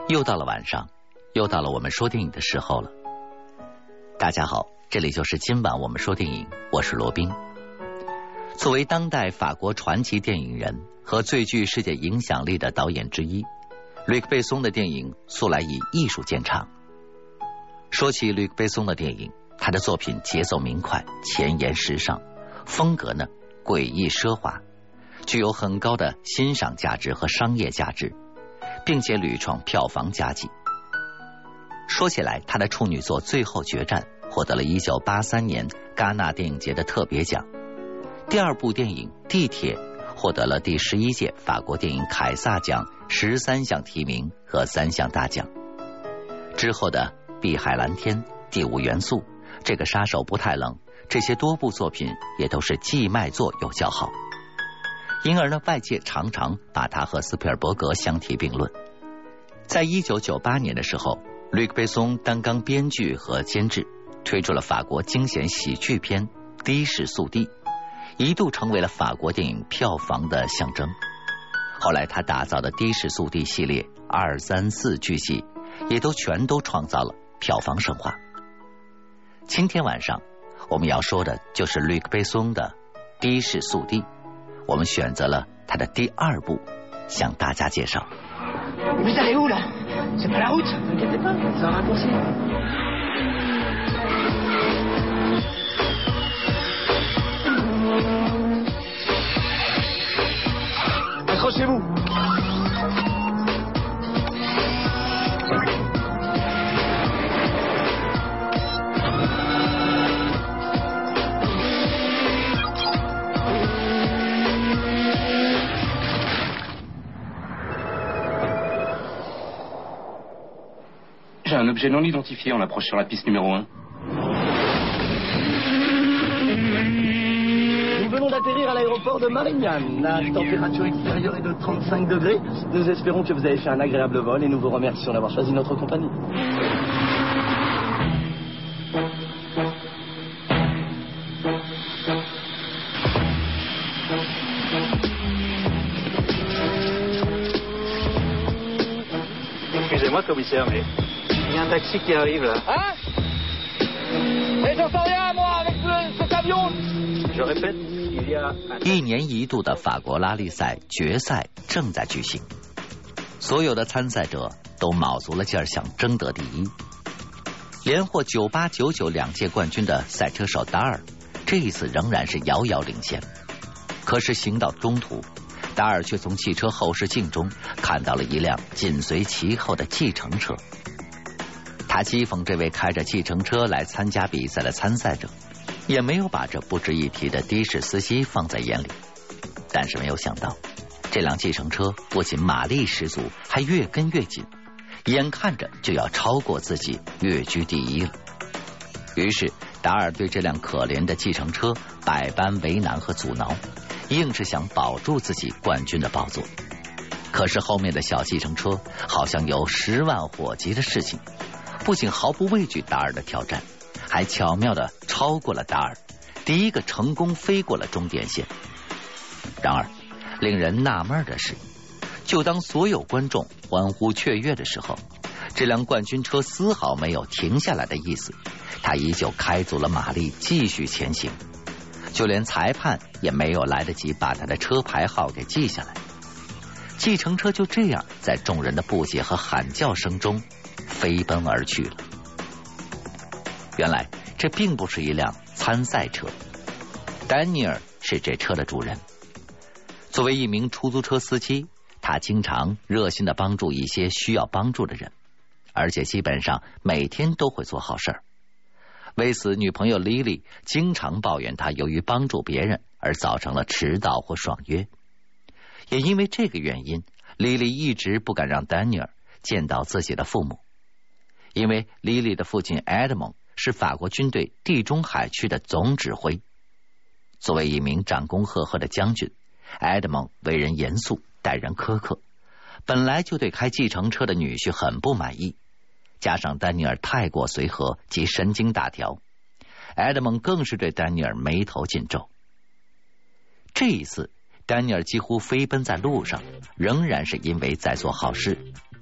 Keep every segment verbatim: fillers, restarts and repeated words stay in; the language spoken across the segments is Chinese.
又到了晚上，又到了我们说电影的时候了。大家好，这里就是今晚我们说电影，我是罗宾。作为当代法国传奇电影人和最具世界影响力的导演之一，吕克·贝松的电影素来以艺术见长。说起吕克·贝松的电影，他的作品节奏明快，前沿时尚，风格呢诡异奢华，具有很高的欣赏价值和商业价值，并且屡创票房佳绩。说起来，他的处女作《最后决战》获得了一九八三年戛纳电影节的特别奖，第二部电影《地铁》获得了第十一届法国电影凯撒奖十三项提名和三项大奖。之后的《碧海蓝天》、《第五元素》、《这个杀手不太冷》，这些多部作品也都是既卖座又叫好，因而呢，外界常常把他和斯皮尔伯格相提并论。在一九九八年的时候，吕克·贝松担纲编剧和监制，推出了法国惊险喜剧片《的士速递》，一度成为了法国电影票房的象征。后来他打造的的士速递系列二三四剧集也都全都创造了票房神话。今天晚上我们要说的就是吕克·贝松的《的士速递》，我们选择了他的第二部向大家介绍。 Vous allez où là? C'est pas la route, t'inquiète pas, c'est un raccourci. Accrochez-vous. J'ai un objet non identifié en approche sur la piste numéro un. Nous venons d'atterrir à l'aéroport de Marignane. La température extérieure est de trente-cinq degrés. Nous espérons que vous avez fait un agréable vol et nous vous remercions d'avoir choisi notre compagnie. Excusez-moi, commissaire, mais il y a un taxi qui arrive là. Hein? Mais j'en sais rien, moi, avec ce, cet avion. Je répète, il y a un... 一年一度的法国拉力赛决赛正在举行，所有的参赛者都卯足了劲儿想争得第一。连获九八九九两届冠军的赛车手达尔，这一次仍然是遥遥领先。可是行到中途，达尔却从汽车后视镜中看到了一辆紧随其后的计程车。他讥讽这位开着计程车来参加比赛的参赛者，也没有把这不值一提的的士司机放在眼里。但是没有想到，这辆计程车不仅马力十足，还越跟越紧，眼看着就要超过自己，跃居第一了。于是达尔对这辆可怜的计程车百般为难和阻挠，硬是想保住自己冠军的宝座。可是后面的小计程车好像有十万火急的事情，不仅毫不畏惧达尔的挑战，还巧妙地超过了达尔，第一个成功飞过了终点线。然而令人纳闷的是，就当所有观众欢呼雀跃的时候，这辆冠军车丝毫没有停下来的意思，它依旧开足了马力继续前行，就连裁判也没有来得及把他的车牌号给记下来。计程车就这样在众人的不解和喊叫声中飞奔而去了。原来这并不是一辆参赛车，丹尼尔是这车的主人。作为一名出租车司机，他经常热心地帮助一些需要帮助的人，而且基本上每天都会做好事儿。为此，女朋友莉莉经常抱怨他由于帮助别人而造成了迟到或爽约。也因为这个原因，莉莉一直不敢让丹尼尔见到自己的父母，因为莉莉的父亲埃德蒙是法国军队地中海区的总指挥。作为一名战功赫赫的将军，埃德蒙为人严肃，待人苛刻，本来就对开计程车的女婿很不满意，加上丹尼尔太过随和及神经大条，埃德蒙更是对丹尼尔眉头紧皱。这一次丹尼尔几乎飞奔在路上，仍然是因为在做好事。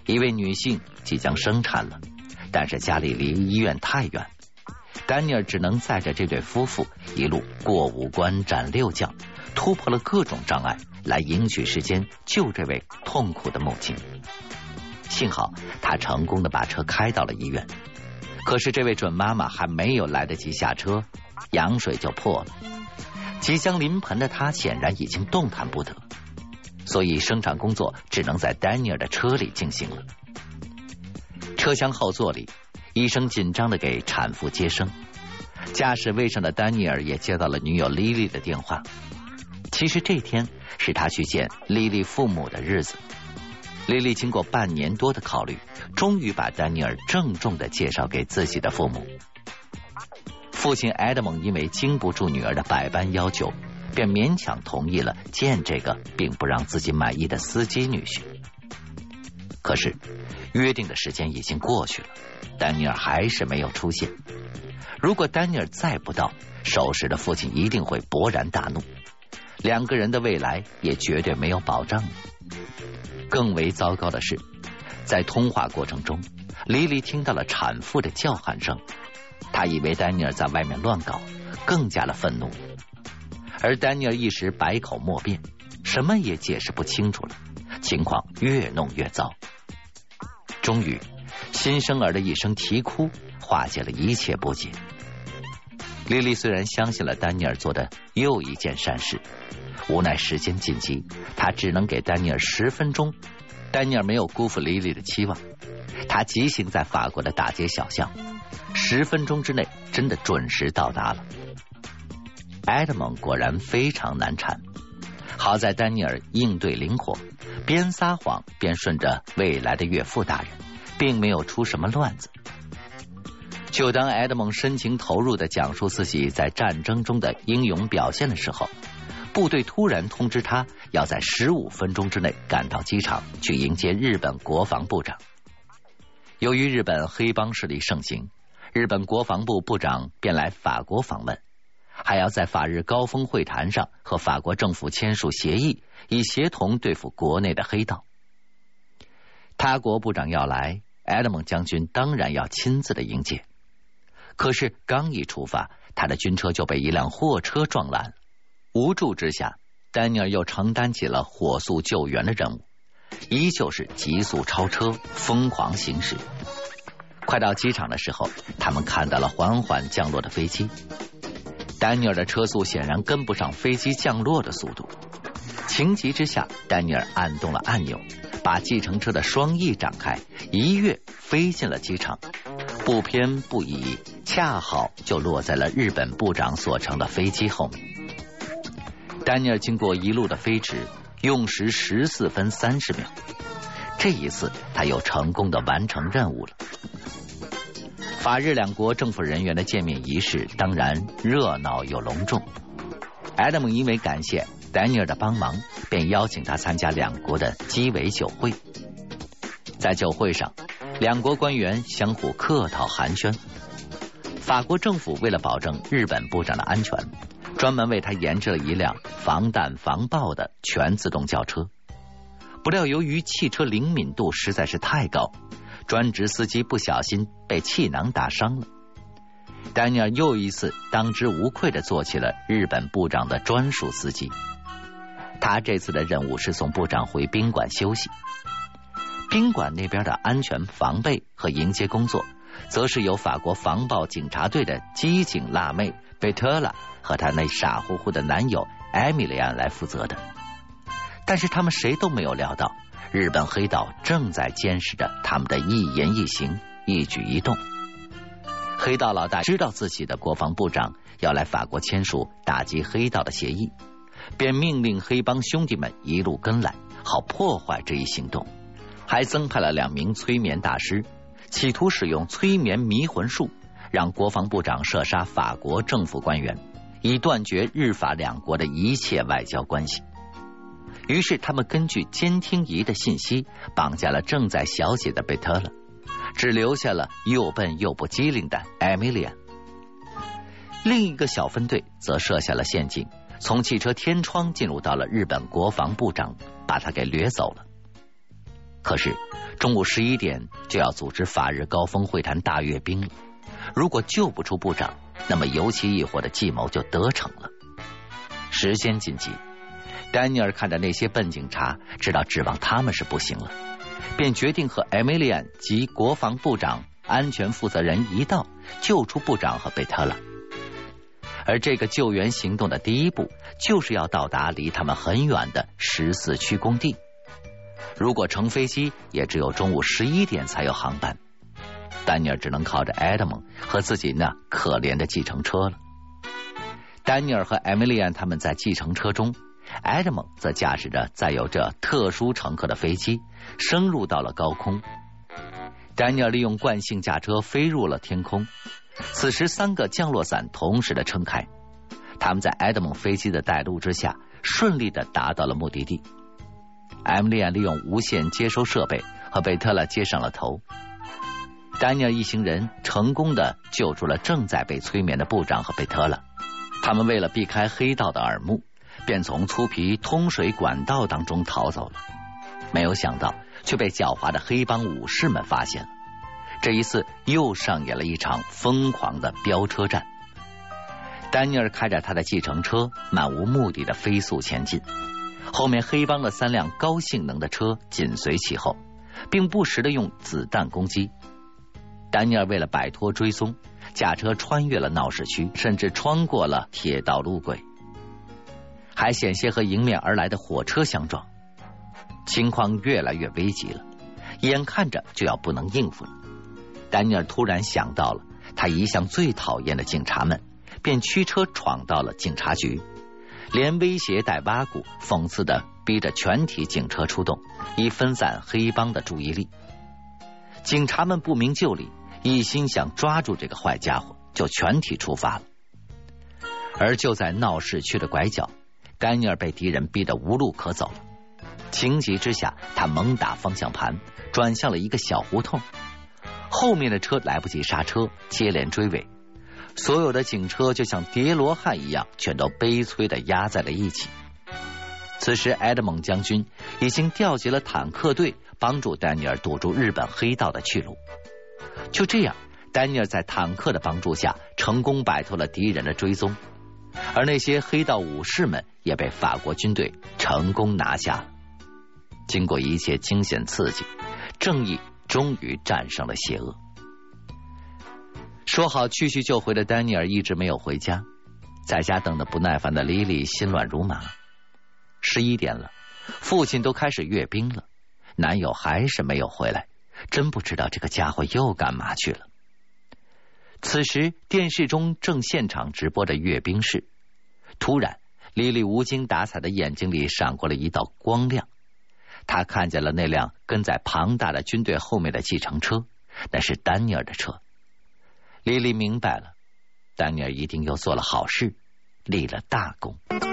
一位女性即将生产了，但是家里离医院太远，丹尼尔只能载着这对夫妇一路过五关斩六将，突破了各种障碍，来赢取时间救这位痛苦的母亲。幸好他成功的把车开到了医院，可是这位准妈妈还没有来得及下车，羊水就破了。即将临盆的她显然已经动弹不得，所以生产工作只能在丹尼尔的车里进行了。车厢后座里，医生紧张地给产妇接生，驾驶位上的丹尼尔也接到了女友莉莉的电话。其实这天是他去见莉莉父母的日子。莉莉经过半年多的考虑，终于把丹尼尔郑重地介绍给自己的父母。父亲埃德蒙因为经不住女儿的百般要求，便勉强同意了见这个并不让自己满意的司机女婿。可是约定的时间已经过去了，丹尼尔还是没有出现。如果丹尼尔再不到，守时的父亲一定会勃然大怒，两个人的未来也绝对没有保障了。更为糟糕的是，在通话过程中，莉莉听到了产妇的叫喊声，她以为丹尼尔在外面乱搞，更加的愤怒。而丹尼尔一时百口莫辩，什么也解释不清楚了，情况越弄越糟。终于，新生儿的一声啼哭化解了一切不解。莉莉虽然相信了丹尼尔做的又一件善事，无奈时间紧急，她只能给丹尼尔十分钟。丹尼尔没有辜负莉莉的期望，他急行在法国的大街小巷，十分钟之内真的准时到达了。埃德蒙果然非常难缠，好在丹尼尔应对灵活，边撒谎边顺着未来的岳父大人，并没有出什么乱子。就当埃德蒙深情投入地讲述自己在战争中的英勇表现的时候，部队突然通知他要在十五分钟之内赶到机场去迎接日本国防部长。由于日本黑帮势力盛行，日本国防部部长便来法国访问，还要在法日高峰会谈上和法国政府签署协议，以协同对付国内的黑道。他国部长要来，埃德蒙将军当然要亲自的迎接。可是刚一出发，他的军车就被一辆货车撞烂了。无助之下，丹尼尔又承担起了火速救援的任务，依旧是急速超车，疯狂行驶。快到机场的时候，他们看到了缓缓降落的飞机。丹尼尔的车速显然跟不上飞机降落的速度，情急之下，丹尼尔按动了按钮，把计程车的双翼展开，一跃飞进了机场，不偏不倚，恰好就落在了日本部长所乘的飞机后面。丹尼尔经过一路的飞驰，用时十四分三十秒。这一次，他又成功的完成任务了。法日两国政府人员的见面仪式当然热闹又隆重。埃德蒙因为感谢丹尼尔的帮忙，便邀请他参加两国的鸡尾酒会。在酒会上，两国官员相互客套寒暄。法国政府为了保证日本部长的安全，专门为他研制了一辆防弹防爆的全自动轿车。不料由于汽车灵敏度实在是太高，专职司机不小心被气囊打伤了。丹尼尔又一次当之无愧地做起了日本部长的专属司机。他这次的任务是送部长回宾馆休息。宾馆那边的安全防备和迎接工作，则是由法国防暴警察队的机警辣妹贝特拉和她那傻乎乎的男友艾米莉安来负责的。但是他们谁都没有料到，日本黑道正在监视着他们的一言一行、一举一动。黑道老大知道自己的国防部长要来法国签署打击黑道的协议，便命令黑帮兄弟们一路跟来，好破坏这一行动。还增派了两名催眠大师，企图使用催眠迷魂术，让国防部长射杀法国政府官员，以断绝日法两国的一切外交关系。于是他们根据监听仪的信息，绑架了正在小姐的贝特勒，只留下了又笨又不机灵的艾米莉安。另一个小分队则设下了陷阱，从汽车天窗进入到了日本国防部长，把他给掠走了。 可是中午十一点就要组织法日高峰会谈大阅兵了，如果救不出部长，那么油漆一伙的计谋就得逞了。时间紧急，丹尼尔看着那些笨警察，知道指望他们是不行了，便决定和艾米莉安及国防部长、安全负责人一道救出部长和贝特拉。而这个救援行动的第一步，就是要到达离他们很远的十四区工地。如果乘飞机，也只有中午十一点才有航班。丹尼尔只能靠着埃德蒙和自己那可怜的计程车了。丹尼尔和艾米莉安他们在计程车中，埃德蒙则驾驶着载有这特殊乘客的飞机升入到了高空。丹尼尔利用惯性驾车飞入了天空。此时三个降落伞同时的撑开，他们在埃德蒙飞机的带路之下顺利的达到了目的地。艾米莉安利用无线接收设备和贝特拉接上了头。丹尼尔一行人成功的救出了正在被催眠的部长和贝特拉。他们为了避开黑道的耳目，便从粗皮通水管道当中逃走了。没有想到却被狡猾的黑帮武士们发现了。这一次又上演了一场疯狂的飙车战。丹尼尔开着他的计程车漫无目的的飞速前进，后面黑帮的三辆高性能的车紧随其后，并不时的用子弹攻击。丹尼尔为了摆脱追踪，驾车穿越了闹市区，甚至穿过了铁道路轨，还险些和迎面而来的火车相撞。情况越来越危急了，眼看着就要不能应付了。丹尼尔突然想到了他一向最讨厌的警察们，便驱车闯到了警察局，连威胁带挖苦，讽刺的逼着全体警车出动，以分散黑帮的注意力。警察们不明就里，一心想抓住这个坏家伙，就全体出发了。而就在闹市区的拐角，丹尼尔被敌人逼得无路可走了。情急之下，他猛打方向盘，转向了一个小胡同。后面的车来不及刹车，接连追尾，所有的警车就像叠罗汉一样，全都悲催地压在了一起。此时埃德蒙将军已经调集了坦克队，帮助丹尼尔堵住日本黑道的去路。就这样，丹尼尔在坦克的帮助下成功摆脱了敌人的追踪，而那些黑道武士们也被法国军队成功拿下了。经过一切惊险刺激，正义终于战胜了邪恶。说好去去就回的丹尼尔一直没有回家，在家等得不耐烦的莉莉心乱如麻。十一点了，父亲都开始阅兵了，男友还是没有回来，真不知道这个家伙又干嘛去了。此时电视中正现场直播的阅兵式，突然莉莉无精打采的眼睛里闪过了一道光亮，她看见了那辆跟在庞大的军队后面的计程车，那是丹尼尔的车。莉莉明白了，丹尼尔一定又做了好事，立了大功。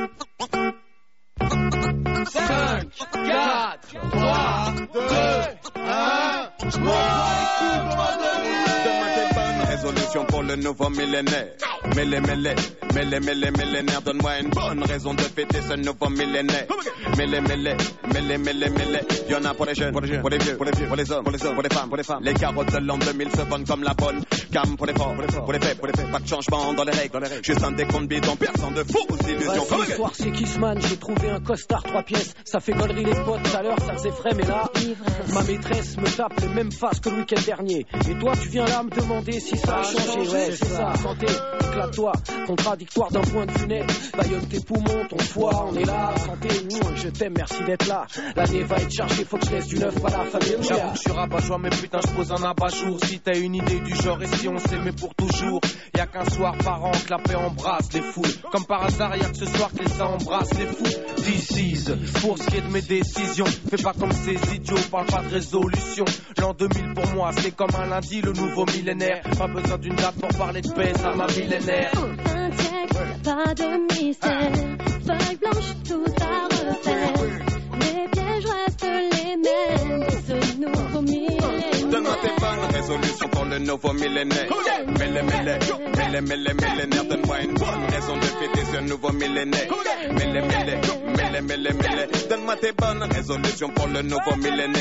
三、四、三、二、Résolution pour le nouveau millénaire. Mêlé, mêlé, mêlé, mêlé, millénaire. Donne-moi une bonne raison de fêter ce nouveau millénaire. Mêlé, mêlé, mêlé, mêlé, mêlé. Y'en a pour les jeunes, pour les, pour les vieux, pour les vieux, pour les hommes, pour les hommes, pour les femmes, pour les femmes. Les carottes de l'an deux mille se vendent comme la bonne gamme pour les forts, pour les forts, pour les faits, pour les faits. Pas de changement dans les règles, dans les règles. Juste un décompte bidon, personne de fausses illusions. Ouais, ce soir c'est Kissman, j'ai trouvé un costard trois pièces. Ça fait gollerie les potes, tout à l'heure ça faisait frais, mais là ma maîtresse me tape les mêmes faces que le week-end dernier. Et toi tu viens là me demander si ça a changé. Ouais, c'est ça, santé, éclate-toi. Contradictoire d'un point de vue net. Baillonne tes poumons, ton foie, on est là. Santé, nous, je t'aime, merci d'être là. L'année va être chargée, faut que je laisse du neuf, pas la famille. J'avoue que je suis rabat-joie, mais putain, je pose un abat-jour. Si t'as une idée du genre et si on s'aimait pour toujours. Y'a qu'un soir par an que la paix embrasse les foules. Comme par hasard, y'a que ce soir que les ça embrasse les fous. This is, pour ce qui est de mes décisions. Fais pas comme ces idiots, parle pas de résolution. L'an deux mille pour moi, c'est comme un lundi, le nouveau millénaire. Pas besoin d'une date pour parler de paix, ça m'a millénaire. Un siècle, pas de mystère. Feuille blanche, tout à refaire. Les pièges restent les mêmes. Ce nouveau millénaire. Donne-moi tes bonnes résolutions pour le nouveau millénaire. Mêlé, mêlé, mêlé, mêlé, millénaire. Donne-moi une bonne raison de fêter ce nouveau millénaire. Mêlé, mêlé, mêlé, mêlé, mêlé. Donne-moi tes bonnes résolutions pour le nouveau millénaire.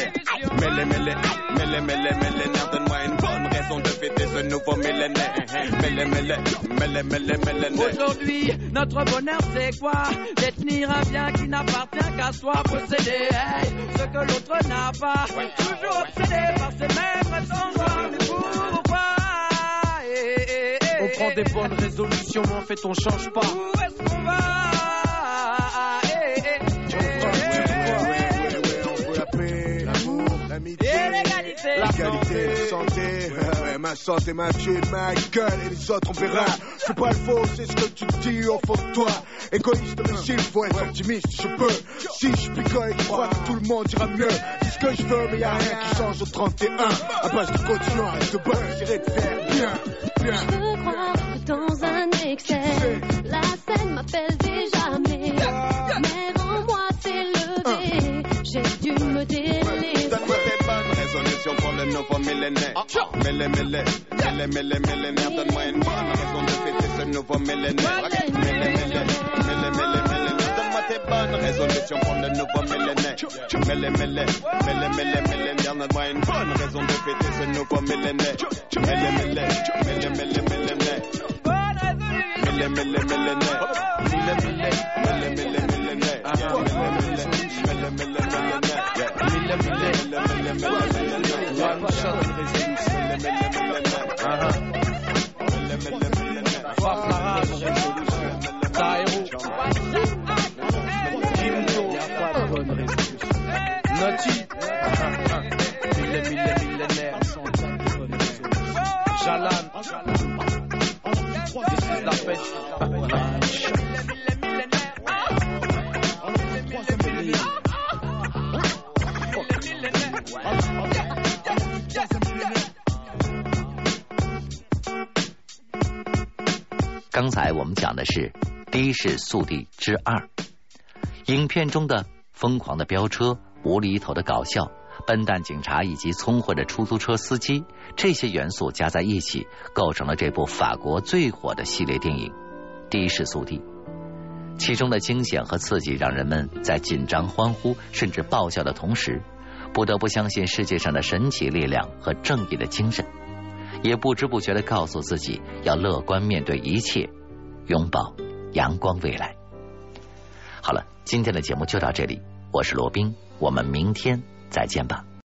Mêlé, mêlé, mêlé, mêlé, millénaire, donne-moi une bonne raison de fêter ce nouveau millénaire. Mêlé, mêlé, mêlé, mêlé, millénaire. Aujourd'hui, notre bonheur c'est quoi? Détenir un bien qui n'appartient qu'à soi, posséder hey, ce que l'autre n'a pas. Toujours obsédé par ces mêmes raisons, mais pourquoi? Hey, hey, hey, on prend des bonnes résolutions, mais en fait on change pas. Où est-ce qu'on va? Hey, hey, l'amitié, l'égalité, la qualité, la santé, ouais, ma santé, ma thune, ma gueule et les autres on verra. C'est pas le faux, c'est ce que tu dis au fond de toi. Égoïste mais s'il faut être optimiste, je peux. Si je picole, je crois que tout le monde ira mieux. C'est ce que je veux, mais y'a rien qui change au trente et un. À base de continuer, reste bonne, j'irai te faire bien, bien. Je veux croire dans un excès. La scène m'appelle déjà, mais mais en moi s'est levé. J'ai dû me délaisser. Donne-moi tes bonnes résolutions pour le nouveau millénaire. Mêlé, mêlé, mêlé, mêlé, millénaire. Donne-moi une bonne raison de fêter ce nouveau millénaire. Mêlé, mêlé, mêlé, mêlé, millénaire. Donne-moi tes bonnes résolutions pour le nouveau millénaire. Mêlé, mêlé, mêlé, mêlé, millénaire. Donne-moi une bonne raison de fêter ce nouveau millénaire. Mêlé, mêlé, mêlé, mêlé, millénaire. Mêlé, mêlé, millénaire. Mêlé, mêlé, mêlé, mêlé, millénaire. Mêlé, mêlé, mêlé, Naughty, mille mille millénaires, Jalan, this is la fête. 刚才我们讲的是《的士速递之二》，影片中的疯狂的飙车、无厘头的搞笑、笨蛋警察以及聪慧的出租车司机，这些元素加在一起，构成了这部法国最火的系列电影《的士速递》。其中的惊险和刺激让人们在紧张、欢呼甚至爆笑的同时，不得不相信世界上的神奇力量和正义的精神，也不知不觉地告诉自己要乐观面对一切，拥抱阳光未来。好了，今天的节目就到这里，我是罗宾，我们明天再见吧。